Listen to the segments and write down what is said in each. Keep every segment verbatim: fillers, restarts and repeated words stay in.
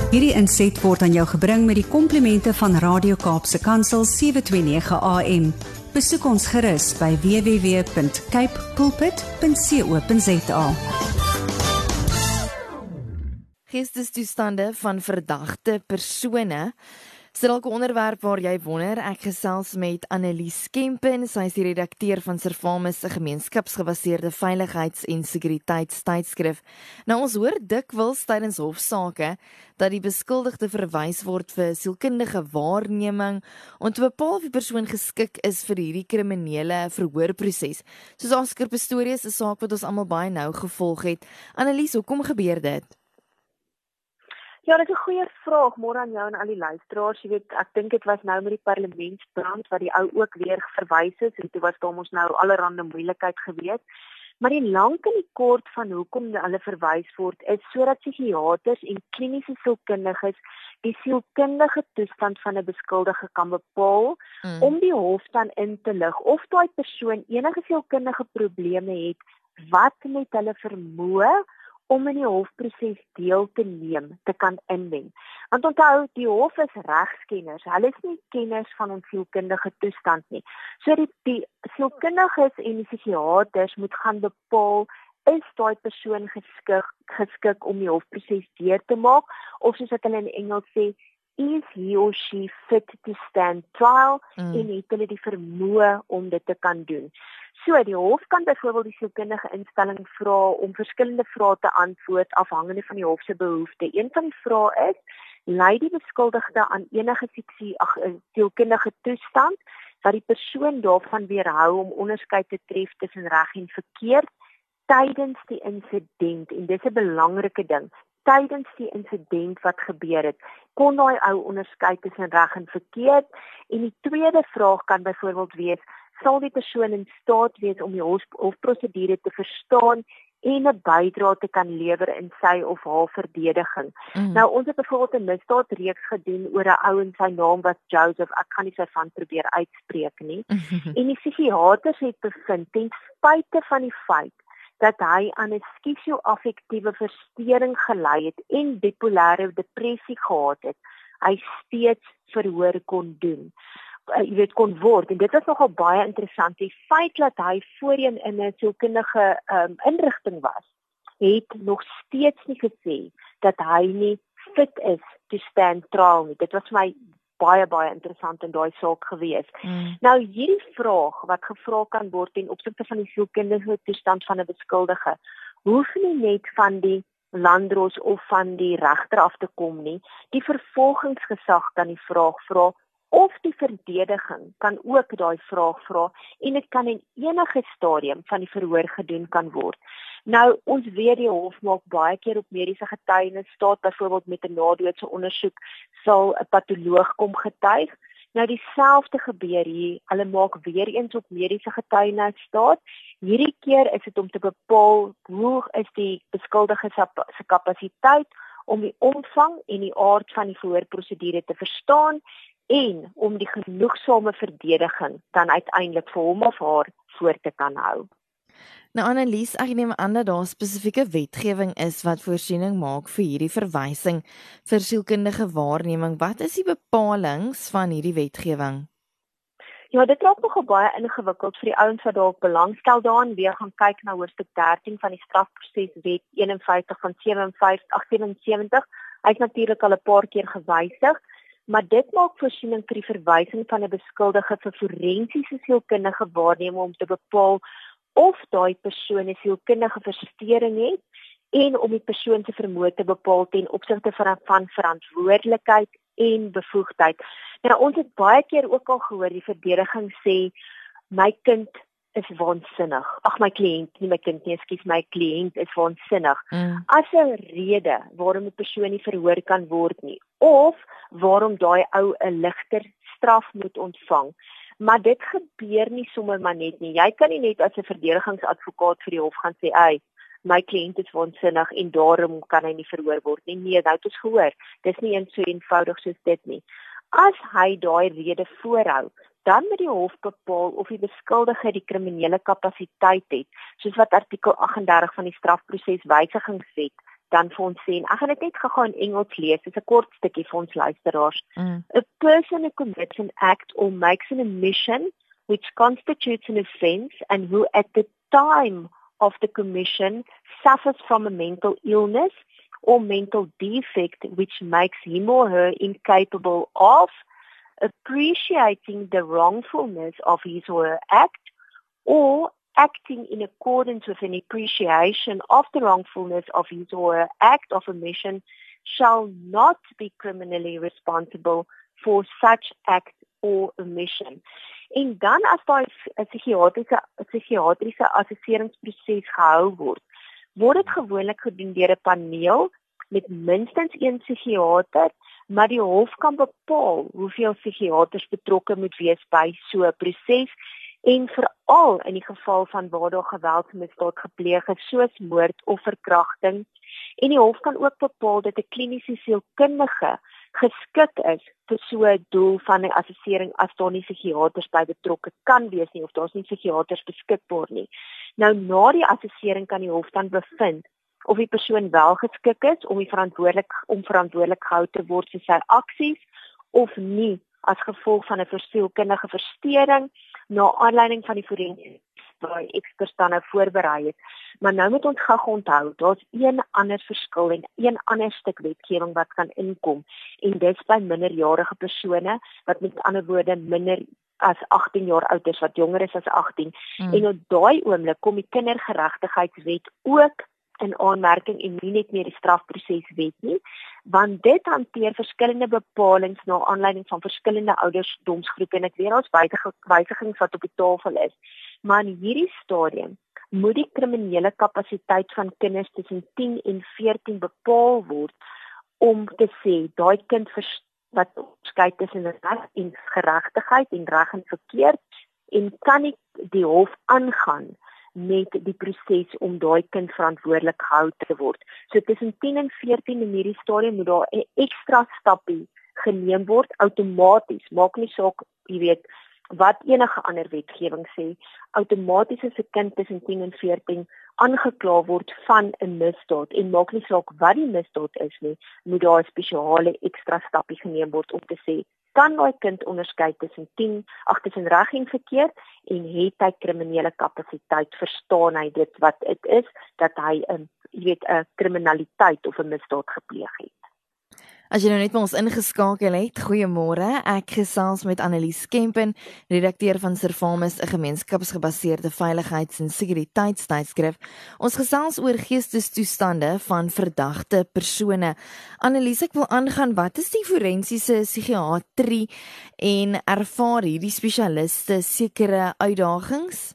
Hierdie inset word aan jou gebring met die komplimente van Radio Kaapse Kansel sewe twee nege A M. Besoek ons gerus by w w w punt cape pulpit punt co punt za. Geestestoestande van verdagte persone. Is dit dalk 'n onderwerp waar jy wonder? Ek gesels met Annelies Kempen, sy is die redakteur van Servamus, 'n gemeenskapsgebaseerde veiligheids- en sekuriteitstydskrif. Nou ons hoor dikwels tydens hofsaake dat die beskuldigde verwys word vir sielkundige waarneming om te bepaal of die persoon geskik is vir hierdie kriminele verhoorproses. Soos Oscar Pistorius, 'n saak wat ons almal baie nou gevolg het. Annelies, hoekom gebeur dit? Ja, dit is 'n goeie vraag, môre aan jou en al die luisteraars. Jy weet, ek dink dit was nou met die parlementsbrand wat die ou ook weer verwys is en toe was daar mos nou allerhande moeilikheid gewees. Maar die lank en die kort van hoekom hulle verwys word is sodat psigiaters en kliniese sielkundiges die sielkundige toestand van 'n beskuldige kan bepaal mm. om die hof dan in te lig of daai persoon enige sielkundige probleme het wat met hulle vermoë om in die hofproses deel te neem, te kan inmeng. Want onthou, die hof is regskenners, hulle is nie kenners van ons sielkundige toestand nie. So die, die sielkundiges en die psigiaters moet gaan bepaal, is daai persoon geskik, geskik om die hofproses deur te maak, of soos wat hulle in Engels sê, is he or she fit to stand trial, mm. en het hulle die vermoë om dit te kan doen. So, die hof kan byvoorbeeld die sielkundige instelling vra om verskillende vrae te antwoord afhangende van die hof se behoefte. Een van die vrae is, lei die beskuldigde aan enige fiksie, ag, sielkundige toestand wat die persoon daarvan weerhou om onderskeid te tref tussen reg en verkeerd tydens die insident, en dis 'n belangrike ding. Tydens die insident wat gebeur het, kon daai ou onderskei tussen reg en verkeerd. En die tweede vraag kan byvoorbeeld wees, sal die persoon in staat wees om die hofprosedure te verstaan en 'n bydrae te kan lewer in sy of haar verdediging. Mm. Nou, ons het byvoorbeeld 'n misdaadreeks gedoen oor 'n ou en sy naam was Joseph, ek gaan nie sy van probeer uitspreek nie. En die psigiaters het bevind, ten spyte van die feit dat hy aan 'n skisio-affektiewe verstoring gelei het en bipolêre depressie gehad het, hy steeds verhoor kon doen. Uh, jy weet, kon word, en dit was nogal baie interessant, die feit dat hy voorheen in 'n sielkundige um, inrigting was, het nog steeds nie gesê dat hy nie fit is to stand trial nie. Dit was vir my baie, baie interessant in daai saak gewees. Mm. Nou, hierdie vraag wat gevra kan word ten opsigte van die sielkundige toestand van 'n beskuldige, hoef nie net van die landdros of van die regter af te kom nie. Die vervolgingsgesag kan die vraag vra, of die verdediging kan ook daai vraag vra, en dit kan in enige stadium van die verhoor gedoen kan word. Nou, ons weet die hof maak baie keer op mediese getuienis staat, byvoorbeeld met 'n nadoodse ondersoek sal 'n patoloog kom getuig. Nou dieselfde gebeur hier, hulle maak weer eens op mediese getuienis staat. Hierdie keer is dit om te bepaal hoe is die beskuldige se kapasiteit om die omvang en die aard van die verhoorprosedure te verstaan en om die genoegsame verdediging dan uiteindelik vir hom of haar voor te kan hou. Nou Annelies, ek neem aan dat daar spesifieke wetgewing is wat voorsiening maak vir hierdie verwysing vir sielkundige waarneming. Wat is die bepalings van hierdie wetgewing? Ja, dit raak nogal baie ingewikkeld vir die ouens wat dalk belangstel daarin. Weer gaan kyk na hoofstuk dertien van die strafproseswet een en vyftig van sewensewentig. Hy is natuurlik al 'n paar keer gewysig, maar dit maak voorsiening vir die verwysing van 'n beskuldige vir forensiese sielkundige waarneming om te bepaal of daai persoon 'n sielkundige verstoring het en om die persoon se vermoë te bepaal ten opsigte van, van verantwoordelikheid en bevoegdheid. Nou, ons het baie keer ook al gehoor die verdediging sê my kind is waansinnig. Ag, my kliënt, nie my kind nie, ekskuus, my kliënt is waansinnig. Mm. As 'n rede waarom 'n persoon nie verhoor kan word nie, of waarom daai ou 'n ligter straf moet ontvang. Maar dit gebeur nie sommer maar net nie. Jy kan nie net as 'n verdedigingsadvokaat vir die hof gaan sê, "Ey, my kliënt is waansinnig en daarom kan hy nie verhoor word nie." Nee, nou het ons gehoor. Dis nie eens so eenvoudig soos dit nie. As hy daai rede voorhou, dan moet die hof bepaal of die beskuldige die kriminele kapasiteit het, soos wat artikel agt en dertig van die strafproseswysigingswet dan vir ons sê, en ek gaan dit net gou in Engels lees, dis 'n kort stukkie vir ons luisteraars. Mm. A person who commits an act or makes an omission which constitutes an offence and who at the time of the commission suffers from a mental illness or mental defect which makes him or her incapable of appreciating the wrongfulness of his or her act or acting in accordance with an appreciation of the wrongfulness of his or her act of omission shall not be criminally responsible for such act or omission. En dan as daar 'n psigiatriese psigiatriese assesseringsproses gehou word, word dit gewoonlik gedoen deur 'n paneel met minstens een psigiater, maar die hof kan bepaal hoeveel psigiaters betrokke moet wees by so 'n proses en veral in die geval van waar daar geweldsmisdaad gepleeg is soos moord of verkrachting. En die hof kan ook bepaal dat 'n kliniese sielkundige geskik is vir so 'n doel van 'n assessering as daar nie psigiaters by betrokke kan wees nie of daar's nie psigiaters beskikbaar nie. Nou na die assessering kan die hof dan bevind of die persoon wel geskik is om die verantwoordelik om verantwoordelik gehou te word vir sy aksies of nie as gevolg van 'n sielkundige verstoring na aanleiding van die forensiese waar eksperts dan nou voorberei het. Maar nou moet ons gou onthou, daar's een ander verskil en een ander stuk wetgewing wat kan inkom en dit by minderjarige persone wat met ander woorde minder as agtien jaar oud is, wat jonger is as agtien. Hmm. En op daai oomblik kom die kindergeregtigheidswet ook in aanmerking en nie net meer die strafproseswet nie, want dit hanteer verskillende bepalinge na aanleiding van verskillende ouderdomsgroepe en ek weet daar's wysigings wat op die tafel is. Maar in hierdie stadium moet die kriminele kapasiteit van kinders tussen tien en veertien bepaal word om te sê daai kind wat skei tussen reg en geregtigheid en reg en verkeerd en kan nie die hof aangaan met die proses om daai kind verantwoordelik gehou te word. So tussen tien en veertien in hierdie stadium moet daar 'n ekstra stappie geneem word outomaties. Maak nie saak, jy weet, wat enige ander wetgewing sê, outomaties as 'n kind tussen tien en veertien aangekla word van 'n misdaad en maak nie saak wat die misdaad is nie, moet daar 'n spesiale ekstra stappie geneem word om te sê kan daai kind onderskei tussen tien, ag tussen reg en verkeerd en het hy kriminele kapasiteit, verstaan hy dit wat dit is dat hy 'n jy weet 'n kriminaliteit of 'n misdaad gepleeg het. As jy nou net met ons ingeskakel het, goeiemôre. Ek gesels met Annelies Kempen, redakteur van Servamus, 'n gemeenskapsgebaseerde veiligheids- en sekuriteitstydskrif. Ons gesels oor geestestoestande van verdagte persone. Annelies, ek wil aangaan, wat is die forensiese psigiatrie en ervaar hierdie spesialiste sekere uitdagings?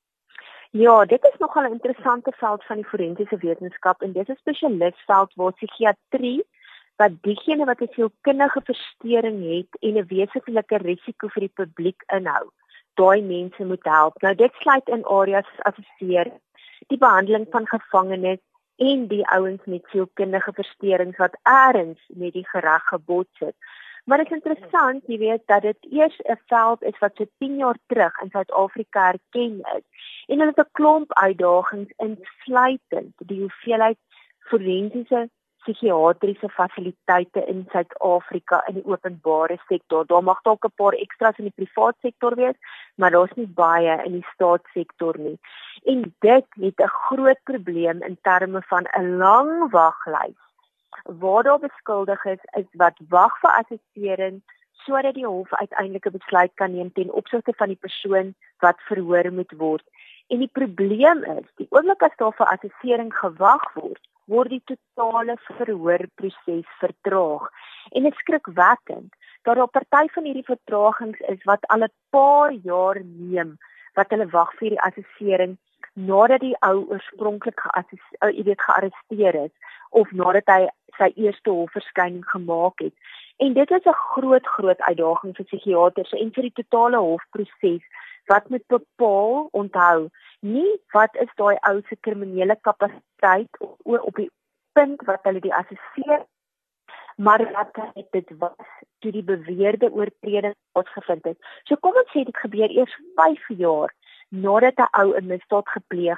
Ja, dit is nogal 'n interessante veld van die forensiese wetenskap en dit is 'n spesialistveld waar psigiatrie wat diegene wat 'n sielkundige verstoring het en 'n wesenlike risiko vir die publiek inhou, daai mense moet help. Nou dit sluit in areas soos assessering, die behandeling van gevangenes en die ouens met sielkundige verstorings wat eers met die gereg gebots het. Maar dit is interessant, jy weet, dat dit eers 'n veld is wat so tien jaar terug in Suid-Afrika erken is. En hulle het 'n klomp uitdagings insluitend die hoeveelheid forensiese psigiatriese fasiliteite in Suid-Afrika in die openbare sektor. Daar mag dalk 'n paar ekstras in die privaat sektor wees, maar daar's nie baie in die staatssektor nie. En dit het 'n groot probleem in terme van 'n lang waglys. Waar daar beskuldiges is wat wag vir assessering sodat die hof uiteindelik 'n besluit kan neem ten opsigte van die persoon wat verhoor moet word. En die probleem is, die oomblik as daar vir assessering gewag word, word die totale verhoorproses vertraag. En dit is skrikwekkend dat daar 'n party van hierdie vertragings is wat al 'n paar jaar neem wat hulle wag vir die assessering nadat die ou oorspronklik geassesseer, jy weet, gearresteer is of nadat hy sy eerste hofverskyning gemaak het. En dit is 'n groot groot uitdaging vir psigiaters en vir die totale hofproses wat moet bepaal, onthou, nie wat is daai ou se kriminele kapasiteit op, op die punt wat hulle die assesseer, maar wat het dit was toe die beweerde oortreding plaasgevind het. So kom ons sê dit gebeur eers vyf jaar nadat 'n ou 'n misdaad gepleeg het.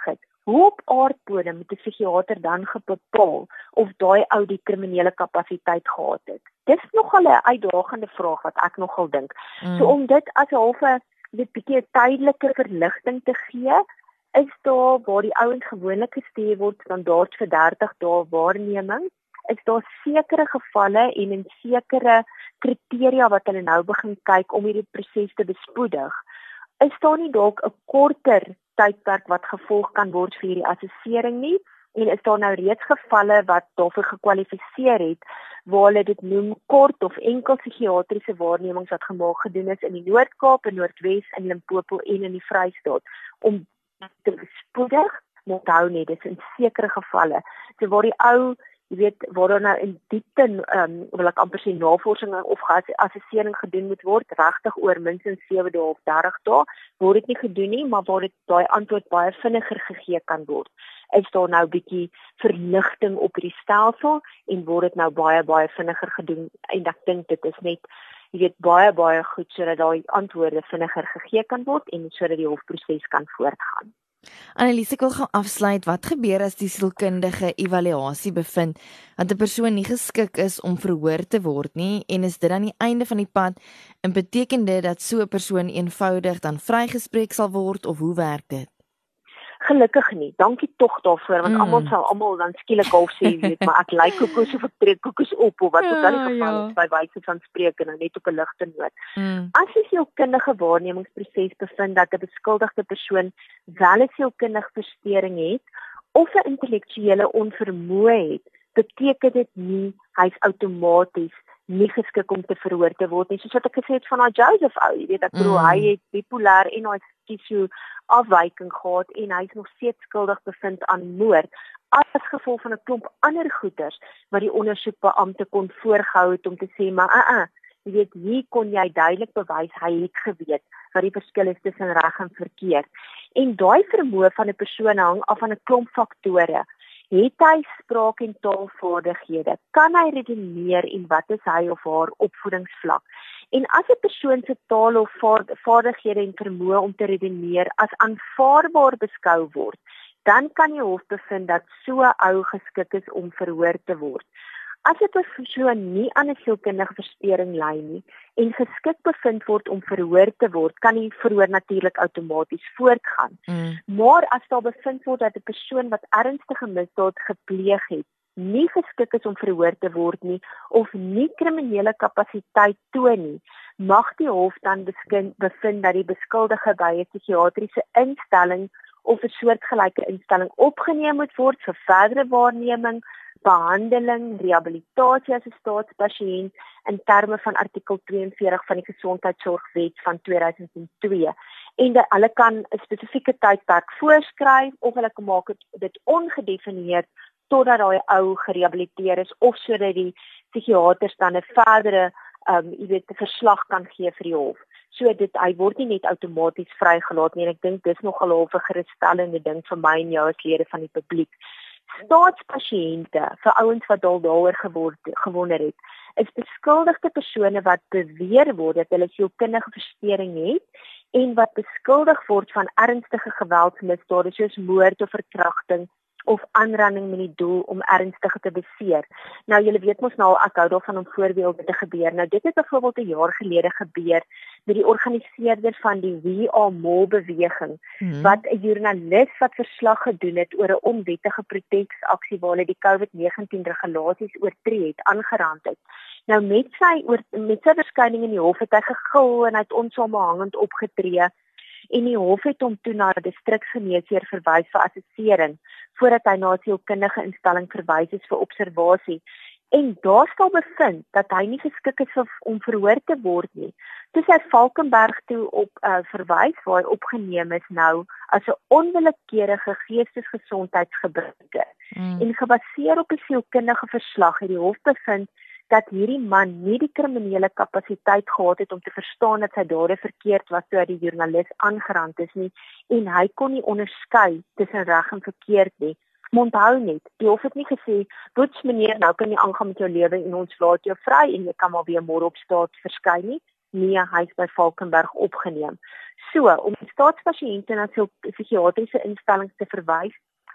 Hoe op aardbodem moet 'n psigiater dan bepaal of daai ou die kriminele kapasiteit gehad het? Dis nogal 'n uitdagende vraag wat ek nogal dink. Mm. So om dit as 'n halfe dit bietjie 'n tydelike verligting te gee, is daar waar die ouens gewoonlik gestuur word standaard vir dertig dae waarneming, is daar sekere gevalle en in sekere kriteria wat hulle nou begin kyk om hierdie proses te bespoedig. Is daar nie dalk 'n korter tydperk wat gevolg kan word vir hierdie assessering nie? En is daar nou reeds gevalle wat daarvoor gekwalifiseer het, waar hulle dit noem kort of enkel psigiatriese waarnemings wat gemaak gedoen is in die Noord-Kaap, in Noordwes, in Limpopo en in die Vrystaat, om te bespoedig, moet hou net, dis in sekere gevalle. So waar die ou, jy weet, waar daar nou in diepte, um, wil ek amper sê navorsing of assessering gedoen moet word, regtig oor minstens sewe dae of dertig dae, word dit nie gedoen nie, maar waar dit daai antwoord baie vinniger gegee kan word, is daar nou bietjie verligting op hierdie stelsel en word dit nou baie baie vinniger gedoen en ek dink dit is net, jy weet, baie baie goed sodat daai antwoorde vinniger gegee kan word en sodat die hofproses kan voortgaan. Annelies, ek wil gaan afsluit. Wat gebeur as die sielkundige evaluasie bevind dat 'n persoon nie geskik is om verhoor te word nie en is dit aan die einde van die pad en beteken dit dat so 'n persoon eenvoudig dan vrygespreek sal word of hoe werk dit? Gelukkig nie. Dankie tog daarvoor want mm. almal sal almal dan skielik half sê, weet, maar ek lyk koekoes of ek trek koekoes op of wat ook al die geval is by wyse van spreek en net op 'n ligte noot. Mm. As jy sielkundige waarnemingsproses bevind dat 'n beskuldigde persoon wel 'n sielkundige verstoring het of 'n intellektuele onvermoë het, beteken dit nie hy's outomaties nie geskik om te verhoor te word nie. Soos wat ek gesê het van daai Joseph ou, jy weet, ek bedoel mm. hy het bipolêr en hy skizofrenie afwyking gehad en hy is nog steeds skuldig bevind aan moord as gevolg van 'n klomp ander goeters wat die ondersoekbeampte kon voorgehou het om te sê maar uh uh jy weet hier kon jy duidelik bewys hy het geweet wat die verskil is tussen reg en verkeerd. En daai vermoë van 'n persoon hang af van 'n klomp faktore. Het hy spraak- en taalvaardighede? Kan hy redeneer en wat is hy of haar opvoedingsvlak? En as 'n persoon se taal of vaardighede en vermoë om te redeneer as aanvaarbaar beskou word, dan kan die hof bevind dat so 'n ou geskik is om verhoor te word. As 'n persoon nie aan 'n sielkundige verstoring ly nie en geskik bevind word om verhoor te word, kan die verhoor natuurlik outomaties voortgaan. Mm. Maar as daar bevind word dat 'n persoon wat ernstige misdaad gepleeg het, nie geskik is om verhoor te word nie of nie kriminele kapasiteit toon nie, mag die hof dan beskin, bevind dat die beskuldige by 'n psigiatriese instelling of 'n soortgelyke instelling opgeneem moet word vir verdere waarneming, behandeling, rehabilitasie as 'n staatspasiënt in terme van artikel twee en veertig van die Gesondheidsorgwet van twee duisend twee. En dat hulle kan 'n spesifieke tydperk voorskryf of hulle kan maak dit ongedefinieerd totdat daai ou gerehabiliteer is of sodat die psigiaters dan 'n verdere um, jy weet, 'n verslag kan gee vir die hof. So dit hy word nie net outomaties vrygelaat nie en ek dink dis nogal 'n half 'n gerusstellende ding vir my en jou as lede van die publiek. Staatspasiënte, vir ouens wat al daaroor geword, gewonder het, is beskuldigde persone wat beweer word dat hulle sielkundige verstoring het en wat beskuldig word van ernstige geweldsmisdade soos moord of verkrachting of aanranding met die doel om ernstig te beseer. Nou, julle weet mos nou, ek hou daarvan om voorbeelde te gebeur. Nou, dit het byvoorbeeld 'n jaar gelede gebeur met die organiseerder van die We Are More beweging, hmm. wat 'n joernalis wat verslag gedoen het oor 'n onwettige protesaksie waar hulle die COVID negentien regulasies oortree het, aangerand het. Nou, met sy, oor, met sy verskyning in die hof het hy gegil en hy het onsamehangend opgetree en die hof het hom toe na 'n distriksgeneesheer verwys vir assessering, voordat hy na 'n sielkundige instelling verwys is vir observasie. En daar sal bevind dat hy nie geskik is om verhoor te word nie. Toe sy Valkenberg toe op uh, verwys waar hy opgeneem is nou as 'n onwillekeurige geestesgesondheidsgebruiker. Mm. En gebaseer op 'n sielkundige verslag het die hof bevind dat hierdie man nie die kriminele kapasiteit gehad het om te verstaan dat sy dade verkeerd was toe hy die joernalis aangerand is nie en hy kon nie onderskei tussen reg en verkeerd nie. Onthou net, die hof het nie gesê, "Boets meneer, nou kan jy aangaan met jou lewe en ons laat jou vry en jy kan maar weer môre op staat verskyn nie." Nee, hy is by Valkenberg opgeneem. So, om staatspasiënte na psigiatriese instellings te verwys,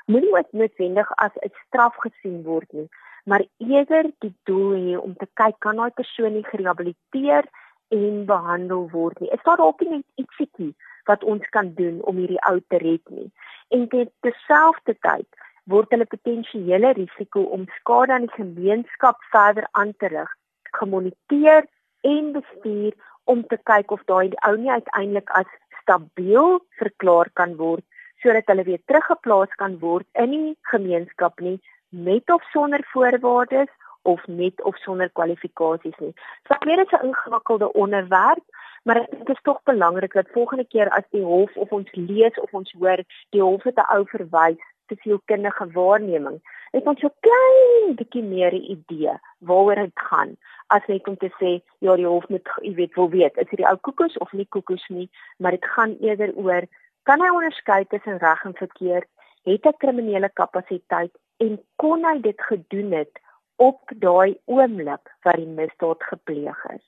moenie ook noodwendig as 'n straf gesien word nie, maar eerder die doel hê om te kyk, kan daai persoon nie gerehabiliteer en behandel word nie. Is daar dalk net ietsiekie wat ons kan doen om hierdie ou te red nie? En terselfdertyd word hulle potensiële risiko om skade aan die gemeenskap verder aan te rig, gemoniteer en bestuur om te kyk of daai ou nie uiteindelik as stabiel verklaar kan word, sodat hulle weer teruggeplaas kan word in die gemeenskap nie, met of sonder voorwaardes, of met of sonder kwalifikasies nie. So ek weet dit is 'n ingewikkelde onderwerp, maar ek dink dit is tog belangrik dat volgende keer as die hof of ons lees of ons hoor, die hof het 'n ou verwys te sielkundige waarneming, het ons so klein bietjie meer 'n idee waaroor dit gaan, as net om te sê, ja, die hof moet, jy weet, wil weet, is die ou koekoes of nie koekoes nie, maar dit gaan eerder oor, kan hy onderskei tussen reg en verkeerd, het hy kriminele kapasiteit, en kon hy dit gedoen het op daai oomblik wat die misdaad gepleeg is.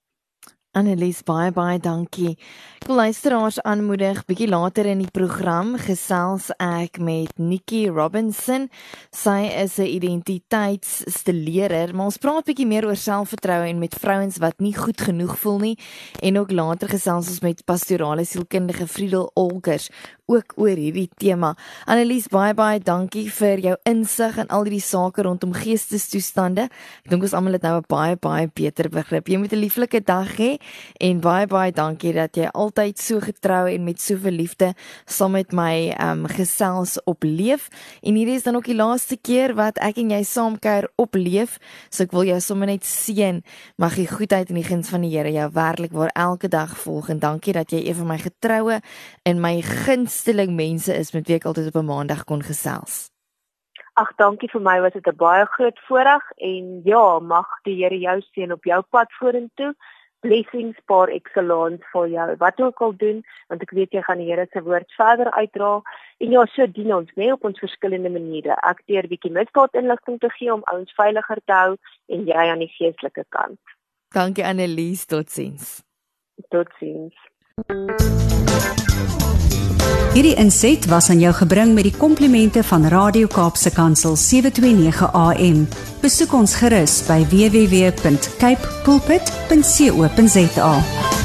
Annelies, baie baie dankie. Ek wil luisteraars aanmoedig, bietjie later in die program gesels ek met Nikki Robinson. Sy is 'n identiteitsstileerder, maar ons praat bietjie meer oor selfvertroue en met vrouens wat nie goed genoeg voel nie, en ook later gesels ons met pastorale sielkundige Friedel Olkers ook oor hierdie tema. Annelies, baie baie dankie vir jou insig in al hierdie sake rondom geestestoestande. Ek dink ons almal het nou 'n baie baie beter begrip. Jy moet 'n lieflike dag hê. En baie baie dankie dat jy altyd so getrou en met soveel liefde saam met my um, gesels op Leef. En hierdie is dan ook die laaste keer wat ek en jy saamkuier op Leef. So ek wil jou sommer net seën. Mag die goedheid en die guns van die Here jou werklik waar elke dag volg. En dankie dat jy een van my getroue en my gunsteling mense is met wie ek altyd op 'n maandag kon gesels. Ag, dankie, vir my was dit 'n baie groot voorreg en ja, mag die Here jou seën op jou pad vorentoe. Blessings par excellence vir jou, wat ook al doen, want ek weet jy gaan die Here se woord verder uitdra, en ja, so dien ons, nee, op ons verskillende maniere. Ek deur bietjie misdaad inligting te gee om ouens veiliger te hou, en jy aan die geestelike kant. Dankie Annelies, totsiens. Totsiens. Hierdie inset was aan jou gebring met die komplimente van Radio Kaapse Kansel sewe twee nege A M. Besoek ons gerus by w w w punt cape pulpit punt co punt za.